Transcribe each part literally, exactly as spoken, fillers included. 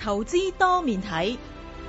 投資多面睇。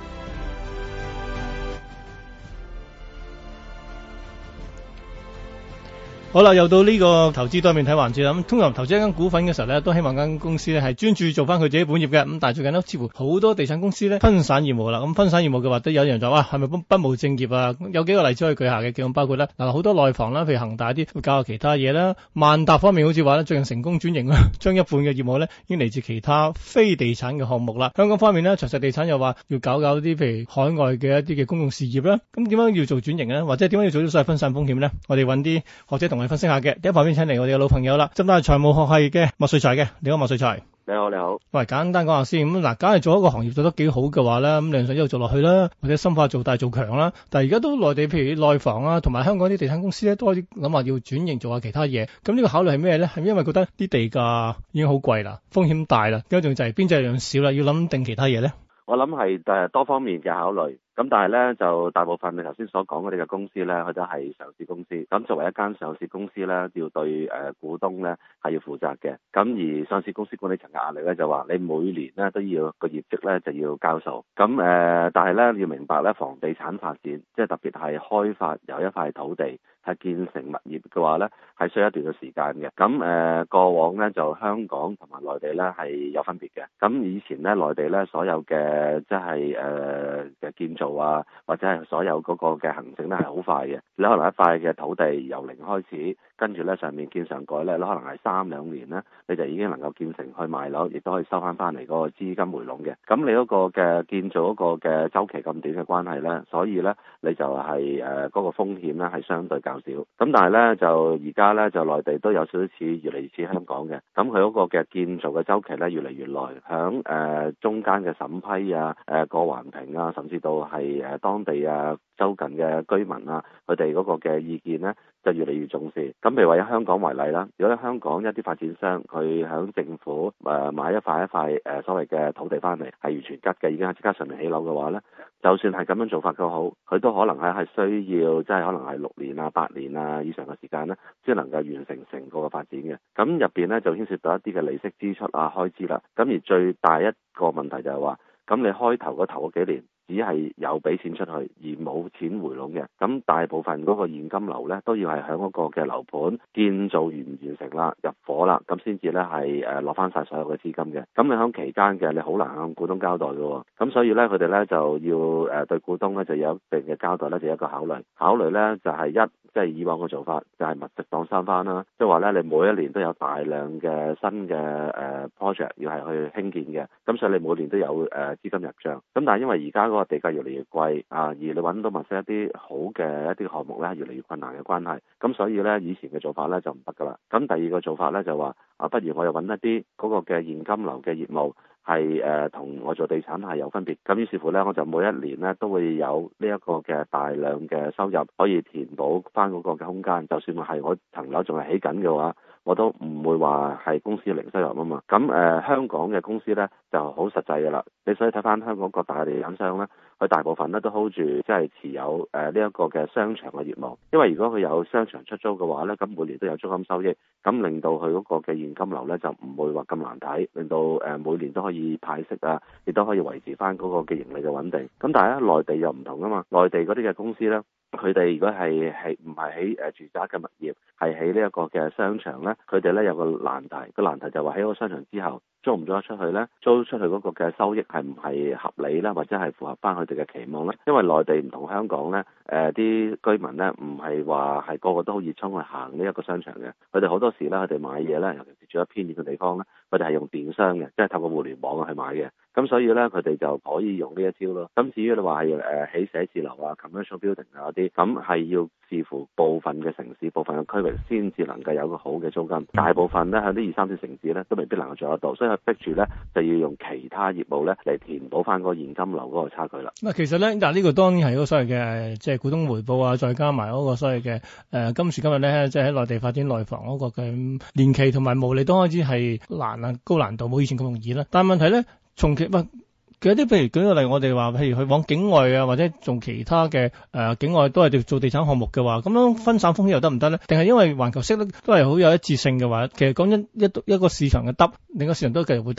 好啦，又到呢個投資多面睇環節啦。咁通常投資一間股份嘅時候咧，都希望間公司咧係專注做翻佢自己本業嘅。咁但係最近咧，似乎好多地產公司咧分散業務啦。咁分散業務嘅話，都有人就話，係咪不不務正業啊？有幾個例子可以舉下嘅，咁包括咧嗱，好多內房啦，譬如恒大啲會搞下其他嘢啦。萬達方面好似話咧，最近成功轉型啦，將一半嘅業務咧已經嚟自其他非地產嘅項目啦。香港方面咧，長實地產又話要搞搞啲譬如海外嘅一啲嘅公用事業啦。咁點解要做轉型咧？或者點解要做啲所謂分散風險咧？我哋揾啲學者同我哋分析下嘅。第一旁邊請嚟我哋嘅老朋友啦，浸大財務學系嘅麥萃才嘅。你好，麥萃才。 你好，你好。 喂，簡單講下先。咁嗱，假如做一個行業做得幾好嘅話咧，咁你想一路做落去啦，或者深化做大做強啦。但係而家都內地譬如內房啊，同埋香港啲地產公司咧，都開始諗話要轉型做下其他嘢。咁呢個考慮係咩咧？係因為覺得啲地價已經好貴啦，風險大啦，跟住就係邊際量少啦，要諗定其他嘢咧。 我諗係誒多方面嘅考慮。咁但係咧，就大部分你頭先所講嗰啲嘅公司咧，佢都係上市公司。咁作為一間上市公司咧，要對誒、呃、股東咧係要負責嘅。咁而上市公司管理層嘅壓力咧，就話你每年咧都要個業績咧就要交數。咁誒、呃，但係咧要明白咧，房地產發展即係特別係開發由一塊土地係建成物業嘅話咧，係需要一段嘅時間嘅。咁誒、呃、過往咧就香港同埋內地咧係有分別嘅。咁以前咧內地咧所有嘅即係誒嘅建造啊，或者係所有嗰個嘅行政咧係好快嘅。你可能一塊嘅土地由零開始，跟住咧上面建上蓋咧，你可能係三兩年咧，你就已經能夠建成去賣樓，亦都可以收翻翻嚟嗰個資金回籠嘅。咁你嗰個嘅建造嗰個嘅週期咁短嘅關係咧，所以咧你就係誒嗰個風險咧係相對較少。咁但係咧就而家咧就內地都有少少似越嚟越似香港嘅。咁佢嗰個嘅建造嘅週期咧越嚟越耐，響誒、呃、中間嘅審批啊、誒、呃、過環評啊，甚至到係誒當地啊周近嘅居民啊，佢哋嗰個嘅意見咧就越嚟越重視。咁譬如話以香港為例啦，如果喺香港一啲發展商佢響政府誒、呃、買一塊一塊誒、呃、所謂嘅土地翻嚟係完全吉嘅，已經係即刻上面起樓嘅話咧，就算係咁樣做法都好，佢都可能係係需要即係可能係六年啊、八年啊以上嘅時間咧，先能夠完成成個嘅發展嘅。咁入邊咧就牽涉到一啲嘅利息支出啊、開支啦。咁而最大一個問題就係話，咁你開頭嗰頭嗰幾年，只係有俾錢出去而冇錢回籠嘅，咁大部分嗰個現金流咧都要係喺嗰個嘅樓盤建造完唔完成啦、入伙啦，咁先至咧係誒攞翻晒所有嘅資金嘅。咁你喺期間嘅你好難向股東交代嘅喎，咁所以咧佢哋咧就要誒對股東咧就有一定嘅交代咧，就有一個考慮。考慮咧就係一即係以往嘅做法就係密食當三番啦，即係話咧你每一年都有大量嘅新嘅誒 project 要係去興建嘅，咁所以你每年都有誒資金入帳。咁但係因為而家嗰個地價越嚟越貴啊，而你揾到物色一啲好嘅一啲項目咧，越嚟越困難嘅關係，咁所以咧以前嘅做法咧就唔得噶啦。咁第二個做法咧就話啊，不如我又揾一啲嗰個嘅現金流嘅業務係誒同我做地產係有分別。咁於是乎咧，我就每一年咧都會有呢一個嘅大量嘅收入可以填補翻嗰個嘅空間。就算係我層樓仲係起緊嘅話，我都唔會話係公司零收入啊嘛。咁誒、呃、香港嘅公司咧就好實際嘅啦。你所以睇翻香港各大地產商咧，佢大部分咧都 hold 住即係持有誒呢一個嘅商場嘅業務。因為如果佢有商場出租嘅話咧，咁每年都有租金收益，咁令到佢嗰個嘅現金流咧就唔會話咁難睇，令到誒每年都可以派息啊，亦都可以維持翻嗰個嘅盈利嘅穩定。咁但係咧內地又唔同啊嘛，內地嗰啲嘅公司咧，佢哋如果係係唔係喺誒住宅嘅物業，係喺呢一個嘅商場咧，佢哋咧有個難題，個難題就話喺個商場之後租唔租得出去咧？租出去嗰個嘅收益係唔係合理啦，或者係符合翻佢哋嘅期望咧？因為內地唔同香港咧，誒、呃、啲居民咧唔係話係個個都好熱衷去行呢一個商場嘅，佢哋好多時咧佢哋買嘢咧，尤其是住喺偏遠嘅地方咧，佢哋係用電商嘅，即係透過互聯網去買嘅。咁所以咧，佢哋就可以用呢一招咯。咁至於你話係誒起寫字樓啊、commercial building 啊嗰啲，咁係要視乎部分嘅城市、部分嘅區域先至能夠有個好嘅租金。大部分咧喺啲二三線城市咧都未必能夠做得到，所以佢逼住咧就要用其他業務咧嚟填補翻嗰個現金流嗰個差距啦。 嗱，其實咧，嗱呢個當然係嗰個所謂嘅即係股東回報啊，再加埋嗰個所謂嘅誒、呃、今時今日咧，即係喺內地發展內房嗰個嘅年期同埋毛利都開始係難啊，高難度，冇以前咁容易啦。但係問題咧，從其喂，其實啲譬如舉個例，我哋話譬如去往境外啊，或者做其他嘅誒、呃、境外都係做地產項目嘅話，咁樣分散風險又得唔得咧？定係因為環球息率都係好有一致性嘅話，其實講緊一一個市場嘅得，另一個市場都繼續會得㗎？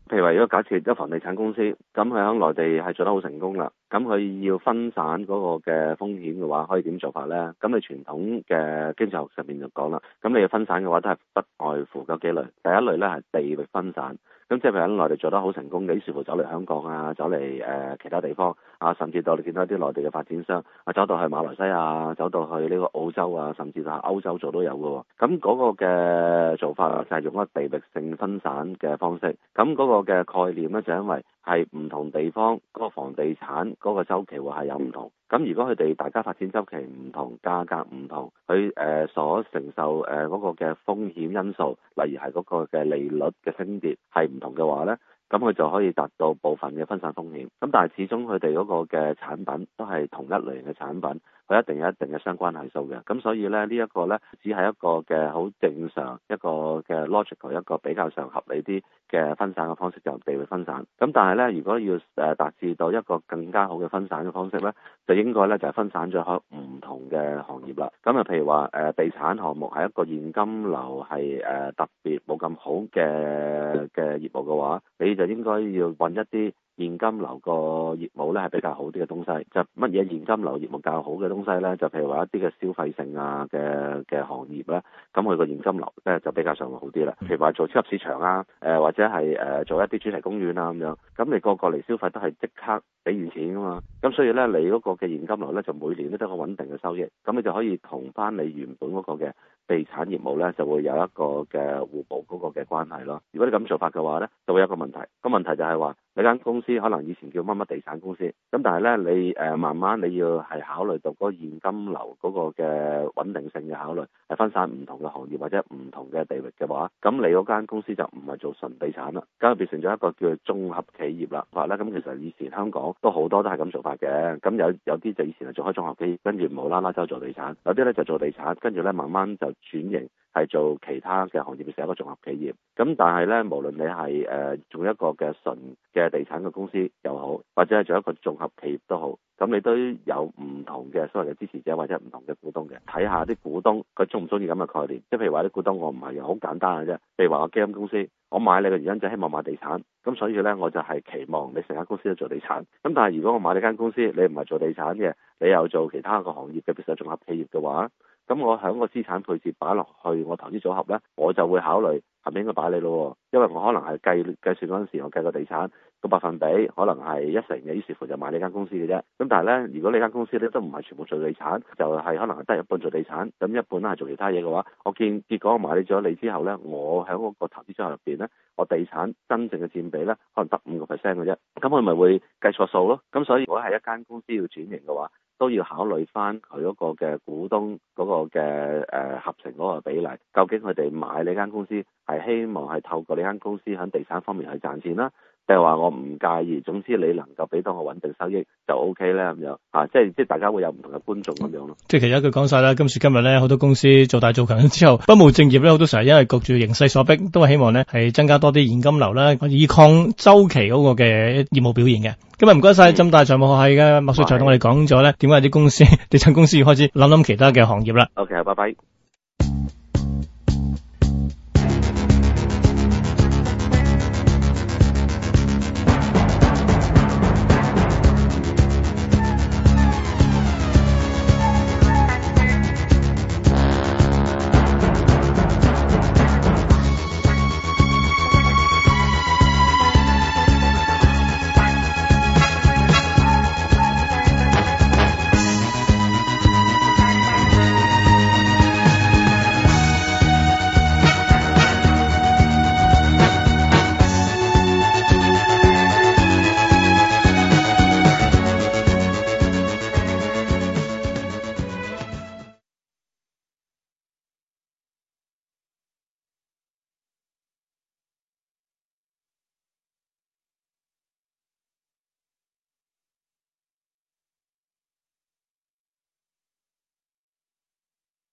譬如話，如果假設一房地產公司，咁佢喺內地係做得好成功啦，咁佢要分散嗰個嘅風險嘅話，可以點做法咧？咁你傳統嘅經濟學上面就講啦，咁你要分散嘅話，都係不外乎嗰幾類。第一類咧係地域分散，咁即係譬如喺內地做得好成功嘅，於是乎走嚟香港啊，走嚟誒、呃、其他地方啊，甚至到你見到一啲內地嘅發展商啊，走到去馬來西亞，走到去呢個澳洲啊，甚至係歐洲做都有嘅喎。咁嗰個嘅做法就係用一個地域性分散嘅方式。咁嗰個嘅概念咧，就因為係唔同地方嗰個房地產嗰個週期會係有唔同。咁如果佢哋大家發展週期唔同，價格唔同，佢誒、呃、所承受誒嗰、呃那個嘅風險因素，例如係嗰個嘅利率嘅升跌係唔同嘅話咧，咁佢就可以達到部分嘅分散風險。咁但係始終佢哋嗰個嘅產品都係同一類型嘅產品，佢一定有一定嘅相關係數嘅。咁所以咧，呢、這、一個咧只係一個嘅好正常一個嘅 logical 一個比較上合理啲嘅分散嘅方式，就地域分散。咁但係咧，如果要誒達至到一個更加好嘅分散嘅方式咧，就應該咧就係分散咗喺唔同嘅行業啦。咁啊，譬如話誒地產項目係一個現金流係誒特別冇咁好嘅嘅業務嘅話，你就應該要揾一啲現金流個業務咧係比較好啲嘅東西。就乜嘢現金流業務較好嘅東西咧？就譬如話一啲嘅消費性啊嘅嘅行業咧，咁佢個現金流咧就比較上會好啲啦。譬如話做超級市場啊，誒、呃、或者係誒、呃、做一啲主題公園啊咁樣，咁你個個嚟消費都係即刻俾完錢噶嘛。咁所以咧，你嗰個嘅現金流咧就每年都得個穩定嘅收益，咁你就可以同翻你原本嗰個嘅地產業務咧就會有一個嘅互補嗰個嘅關係咯。如果你咁做法嘅話咧，就會有一個問題。個問題就係話你間公司可能以前叫乜乜地產公司，咁但係咧你誒、呃、慢慢你要係考慮到嗰個現金流嗰個嘅穩定性嘅考慮，係分散唔同嘅行業或者唔同嘅地域嘅話，咁你嗰間公司就唔係做純地產啦，咁就變成咗一個叫做綜合企業啦。話咧咁其實以前香港都好多都係咁做法嘅，咁有有啲就以前係做開綜合企業，跟住無啦啦就做地產，有啲咧就做地產，跟住咧慢慢就轉型係做其他嘅行業，變成一個綜合企業。咁但係咧，無論你係誒、呃、做一個嘅純嘅地產嘅公司又好，或者係做一個綜合企業都好，咁你都有唔同嘅所謂嘅支持者或者唔同嘅股東嘅。睇下啲股東佢中唔中意咁嘅概念，即係譬如話啲股東我唔係好簡單嘅啫。譬如話我基金公司，我買你嘅原因就係希望買地產，咁所以咧我就係期望你成間公司都做地產。咁但係如果我買你間公司，你唔係做地產嘅，你又做其他個行業嘅，譬如綜合企業嘅話，咁我喺個資產配置擺落去我投資組合咧，我就會考慮係咪應該擺你咯，因為我可能係計計算嗰陣時，我計個地產個百分比可能係一成嘅，於是乎就買呢間公司嘅啫。咁但係咧，如果你間公司咧都唔係全部做地產，就係、是、可能係得一半做地產，咁一半咧係做其他嘢嘅話，我見結果我買咗你之後咧，我喺嗰個投資組合入邊咧，我地產真正嘅佔比咧可能得五個 percent 嘅啫，咁佢咪會計錯數咯。咁所以如果係一間公司要轉型嘅話，都要考慮翻佢嗰個嘅股東嗰個嘅誒、呃、合成嗰個比例，究竟佢哋買呢間公司係希望係透過呢間公司喺地產方面去賺錢啦，定係話我唔介意，總之你能夠俾到我穩定收益就 O K 咧咁樣啊，即係即係大家會有唔同嘅觀眾咁樣咯。即係其實一句講晒啦，今時今日咧好多公司做大做強之後，不務正業咧好多時候因為焗住形勢所逼，都係希望咧係增加多啲現金流啦，以抗週期嗰個嘅業務表現嘅。今日唔該晒浸大財務學系嘅麥萃才同我哋講咗咧，點解啲公司地產公司要開始諗諗其他嘅行業啦。OK， 拜拜。